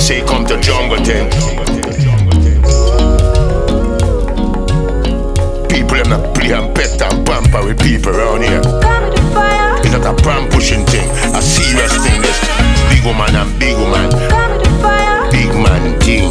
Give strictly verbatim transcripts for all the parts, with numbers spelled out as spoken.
say come to jungle thing. People them not play and pet and pamper with people around here. It's not a pram pushing thing, a serious thing. This big woman and big woman, big man thing.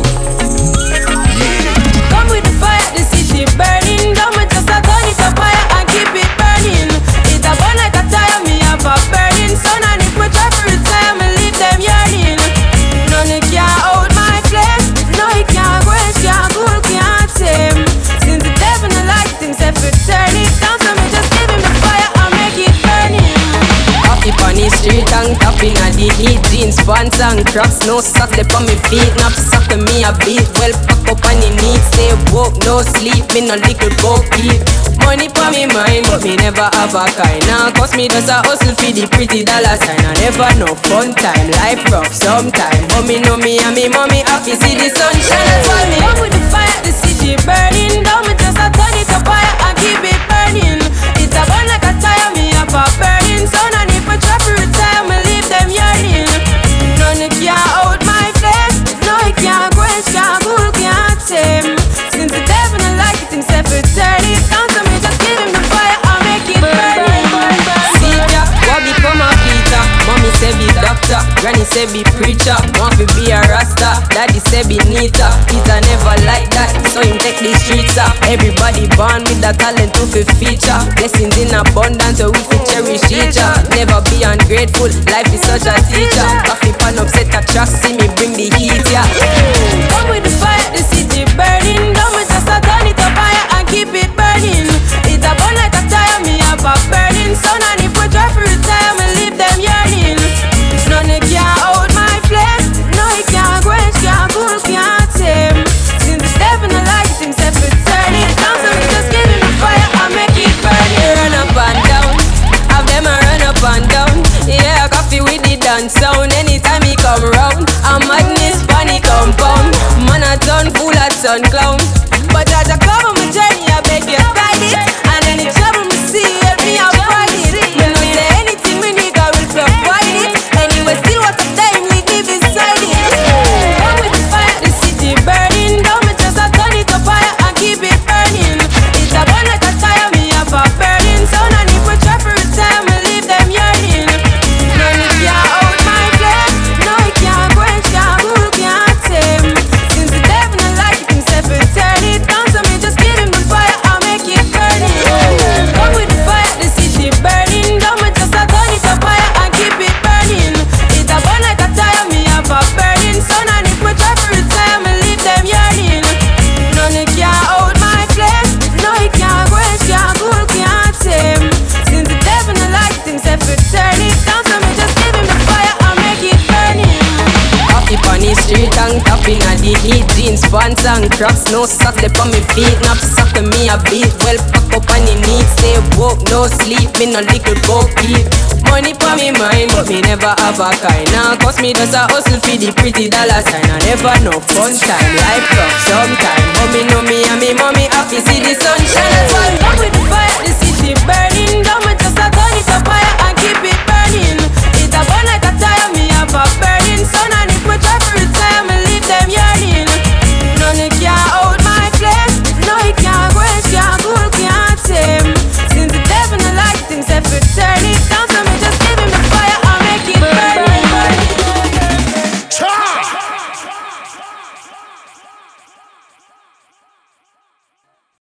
Yeah. Come with the fire, the city burning. Don't me just a turn it to fire and keep it burning. It a burn like a tire, me have a burning sun. And if me try to retire, me leave them yearning. None it can hold my flesh. No it can't quench, can't cool, can't tame. Since the devil no like things, if it turn it down, so me just give him the fire and make it burning. Off it on the street and tapping at the heat. Jeans, pants and crocs, no socks left on me feet. Not suck to me a beat, well pack up on the knees. Stay woke, no sleep, me no little boat keep. Money for me mind, but me never have a kind. Now cause me just a hustle for the pretty dollar sign. I never no fun time, life rough sometime. But me know me and me mommy happy see the sunshine. That's why me come with the fire, the city burning. Don't me just a turn it to fire and keep it burning. It's a burn like a tire, me have a burning sun. And if I try to retire, me leave them yearning. None it can't hold my flesh. No it can't quench, can't cool, can't tame. Since the devil no like it, himself it turn it down. So me just give him the fire and make it burning. See ya, what become a Peter? Mommy say be doctor, granny say be preacher. Want to be a rasta, daddy say be neater. Peter never like that, so him take the streets up. Everybody born with the talent to fi feature. Blessings in abundance, so we fi cherish each other. Never be ungrateful, life is such a teacher. Coffee pan upset a track, see me bring the heat, yeah. Come with the fire, the city burning. Don't me just a turn it to fire and keep it burning. It a burn like a tire, me have a burning sun. And if we try to retire, me leave them yearning. None it can't hold my flesh. No it can't quench, can't cool, can't tame. Since the devil no like it, himself it turn it down. So we just give him the fire and make it burning. Run up and down, have them a run up and down. Yeah, coffee with the dance sound. Anytime he come round, a madness funny compound. Man a turn fool a turn clown. But as I come on my journey, I beg you guide it. And any trouble me see, help me avoid it. Me no say anything me need, I will provide it. Anyway, still what a time we live inside it. Come with the fire, the city burning. Don't me just a turn it to fire and keep it burning. It's a burn like a tire, me have a burning sun. And if we try to retire, me leave them yearning. None it can't hold my flesh. No it can't quench, can't cool, can't tame. Since the devil no like it, himself it turn it down. So me just give him the fire and make it burning. Come with the fire, the city burning. Don't me just a turn it to fire and keep it burning. It a burn like a tire, me have a burning sun. And if we try to retire, me leave them yearning. None it can't hold my flesh. No it can't quench, can't cool, can't tame. Since the devil no like it, himself it turn it down. So me just give him the fire and make it burning. Off it on the street and tapping at the heat. Jeans, pants and crocs, no socks left on me feet. Not suck to me a beat, well pack up on the knees. Stay woke, no sleep, me no little boat keep. Money for me mind, but me never have a kind. Now cause me just a hustle for the pretty dollar sign. I never no fun time, life rough sometime. But me know me and me mommy happy see the sunshine. That's why come with the fire, the city burning down.